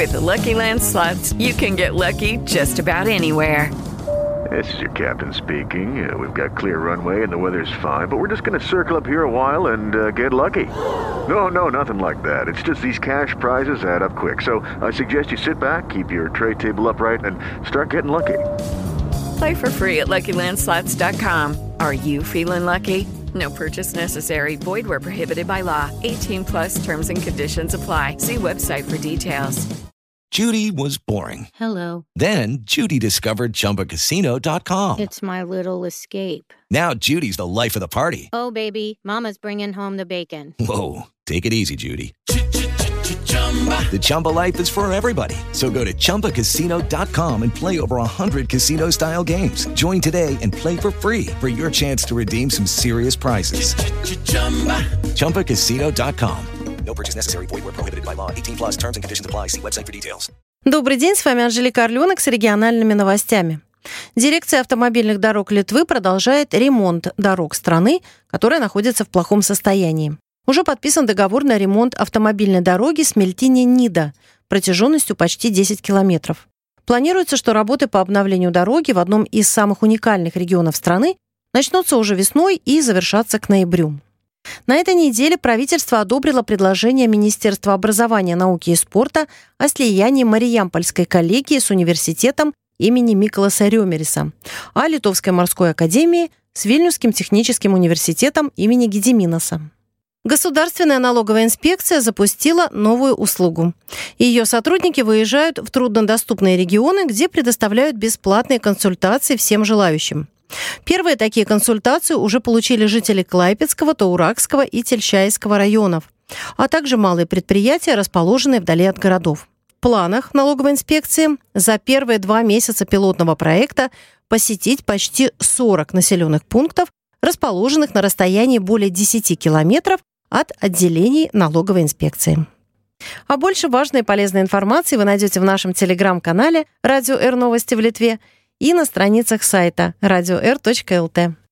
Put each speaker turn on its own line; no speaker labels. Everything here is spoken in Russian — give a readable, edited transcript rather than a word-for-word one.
With Lucky Land Slots, you can get lucky just about anywhere.
This is your captain speaking. We've got clear runway and the weather's fine, but we're just going to circle up here a while and get lucky. No, nothing like that. It's just these cash prizes add up quick. So I suggest you sit back, keep your tray table upright, and start getting lucky.
Play for free at LuckyLandSlots.com. Are you feeling lucky? No purchase necessary. Void where prohibited by law. 18 plus terms and conditions apply. See website for details.
Judy was boring.
Hello.
Then Judy discovered ChumbaCasino.com.
It's my little escape.
Now Judy's the life of the party.
Oh, baby, mama's bringing home the bacon.
Whoa, take it easy, Judy. The Chumba life is for everybody. So go to ChumbaCasino.com and play over 100 casino-style games. Join today and play for free for your chance to redeem some serious prizes. ChumbaCasino.com. No purchase necessary. Void where prohibited by law. 18 plus terms and conditions apply. See website for details.
Добрый день, с вами Анжелика Орленок с региональными новостями. Дирекция автомобильных дорог Литвы продолжает ремонт дорог страны, которая находится в плохом состоянии. Уже подписан договор на ремонт автомобильной дороги Смельтине-Нида протяженностью почти 10 километров. Планируется, что работы по обновлению дороги в одном из самых уникальных регионов страны начнутся уже весной и завершатся к ноябрю. На этой неделе правительство одобрило предложение Министерства образования, науки и спорта о слиянии Мариямпольской коллегии с университетом имени Миколаса Рёмериса, а Литовской морской академии с Вильнюсским техническим университетом имени Гедиминаса. Государственная налоговая инспекция запустила новую услугу. Ее сотрудники выезжают в труднодоступные регионы, где предоставляют бесплатные консультации всем желающим. Первые такие консультации уже получили жители Клайпедского, Таурагского и Тельчайского районов, а также малые предприятия, расположенные вдали от городов. В планах налоговой инспекции за первые 2 месяца пилотного проекта посетить почти 40 населенных пунктов, расположенных на расстоянии более 10 километров от отделений налоговой инспекции. А больше важной и полезной информации вы найдете в нашем телеграм-канале «Радио Р Новости в Литве» и на страницах сайта radio.r.lt.